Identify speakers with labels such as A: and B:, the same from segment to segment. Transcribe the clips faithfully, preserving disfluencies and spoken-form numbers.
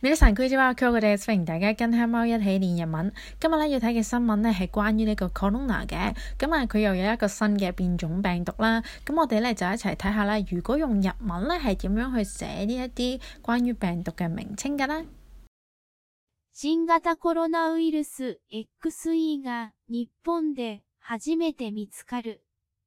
A: 皆さんこんにちは，歡迎大家跟黑貓一起練日文。今日咧要睇嘅新聞咧係關於呢個 Corona 嘅，咁啊佢又有一個新嘅變種病毒啦。咁我哋咧就一齊睇下啦，如果用日文咧係點樣去寫呢一啲關於病毒嘅名稱㗎啦。
B: 新型コロナウイルス エックスイー が日本で初めて見つかる。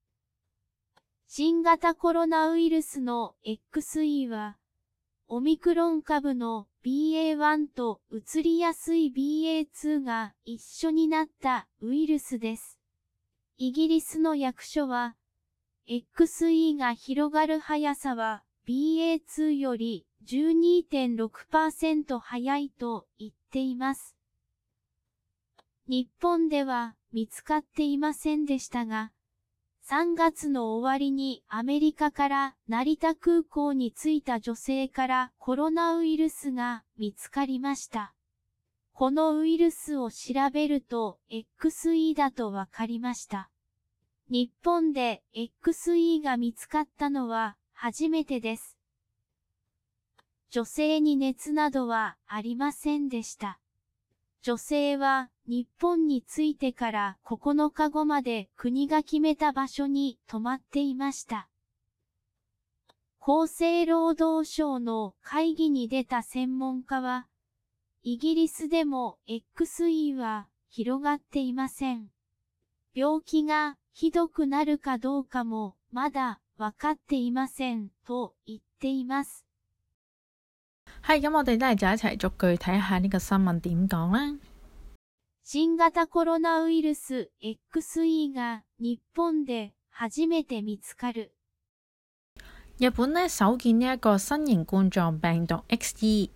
B: 新型コロナウイルスの エックスイー はオミクロン株の ビーエーワン と移りやすい ビーエーツー が一緒になったウイルスです。イギリスの役所は、エックスイー が広がる速さは ビーエーツー より じゅうにてんろくパーセント 速いと言っています。日本では見つかっていませんでしたが、さんがつの終わりにアメリカから成田空港に着いた女性からコロナウイルスが見つかりました。このウイルスを調べると エックスイー だとわかりました。日本で エックスイー が見つかったのは初めてです。女性に熱などはありませんでした。女性は日本に着いてからここのかごまで国が決めた場所に泊まっていました。厚生労働省の会議に出た専門家は、イギリスでも エックスイー は広がっていません。病気がひどくなるかどうかもまだわかっていませんと言っています。
A: 係咁，我哋都係就一齊逐句睇下呢個新聞點講啦。
B: 新型コロナウイルス エックスイー が日本で初めて見つかる。
A: 日本呢首見呢一個新型冠狀病毒 エックスイー。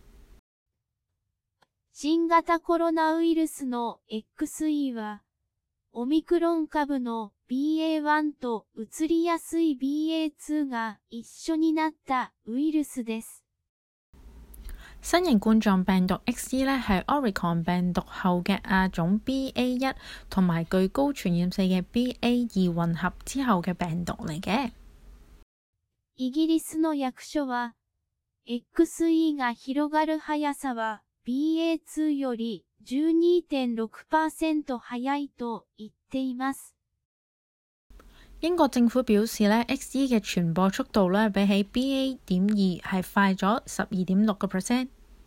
B: 新型コロナウイルスの エックスイー は、オミクロン株の ビーエーワン と移りやすい ビーエーツー が一緒になったウイルスです。
A: 新型冠狀病毒 エックスイー 咧係 Omicron 病毒後嘅亞種 B A 一 同埋具高傳染性嘅 B A 二 混合之後嘅病毒嚟嘅。
B: イギリスの役所は、エックスイー が広がる速さは ビーエーツー より じゅうにてんろくパーセント 速いと言っています。
A: 英國政府表示咧 ，エックスイー 嘅傳播速度咧比起 B A 點二係快咗十二點六個 percent。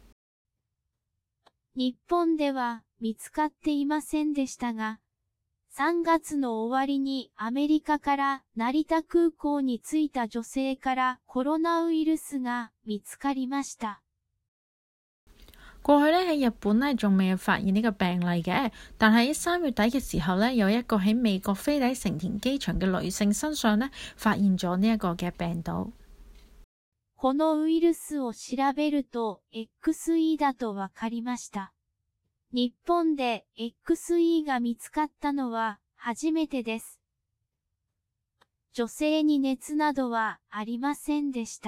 B: 日本では見つかっていませんでしたが、さんがつの終わりにアメリカから成田空港に着いた女性からコロナウイルスが見つかりました。
A: 過去咧喺日本咧仲未有發現呢個病例嘅，但係三月底嘅時候咧，有一個喺美國飛抵成田機場嘅女性身上咧發現咗呢一個嘅病毒。
B: このウイルスを調べると エックスイー だとわかりました。日本で エックスイー が見つかったのは初めてです。女性に熱などはありませんでした。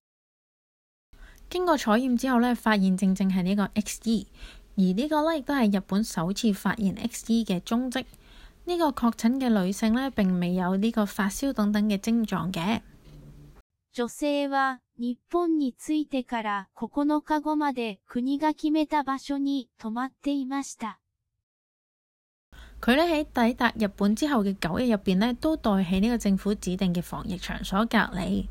A: 經過採驗之後咧，發現正正係呢個 エックスイー，而呢個咧亦都係日本首次發現 エックスイー 嘅蹤跡。呢個確診嘅女性咧並未有呢個發燒等等嘅症狀嘅。
B: 女性は日本に着いてからここのかごまで國が決めた場所に泊まっていました。
A: 佢咧喺抵達日本之後嘅九日入邊咧，都待喺呢個政府指定嘅防疫場所隔離。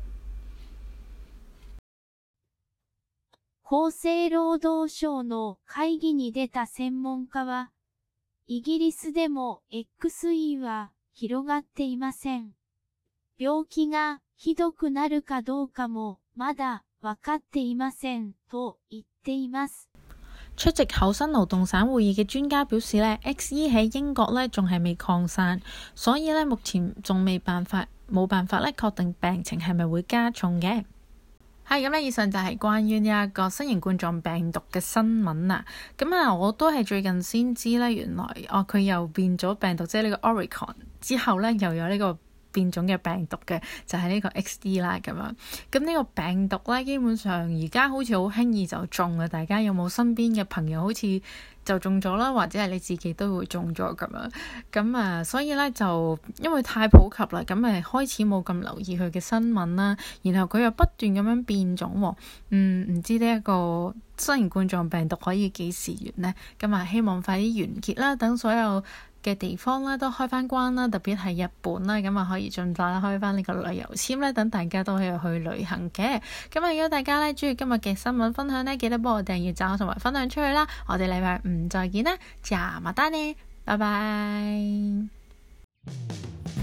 B: 厚生労働省の会議に出た専門家は、イギリスでも エックスイー は広がっていません。病気がひどくなるかどうかもまだわかっていませんと言っています。
A: 出席厚生勞動省會議嘅專家表示咧 ，エックスイー 喺英國咧仲係未擴散，所以咧目前仲未辦法冇辦法咧確定病情係咪會加重嘅。係咁咧，以上就係關於呢一個新型冠狀病毒嘅新聞啦。咁啊，我都係最近先知咧，原來哦佢又變咗病毒，即係呢個 Omicron之後咧，又有呢個變種嘅病毒嘅，就係呢個 X E 啦咁樣。咁呢個病毒咧，基本上而家好似好輕易就中啊！大家有冇身邊嘅朋友好似就中咗啦，或者係你自己都會中咗咁樣？咁啊，所以咧就因為太普及啦，咁咪開始冇咁留意佢嘅新聞啦。然後佢又不斷咁樣變種喎，嗯，唔知呢一個新型冠狀病毒可以幾時完呢？咁啊，希望快啲完結啦，等所有嘅地方啦都開翻關啦，特別係日本啦，咁啊可以盡快開翻呢個旅遊簽咧，等大家都可以去旅行嘅。咁啊，如果大家咧中意今日嘅新聞分享咧，記得幫我訂閱、讚好同埋分享出去啦。我哋禮拜五再見啦，じゃあまたね，拜拜。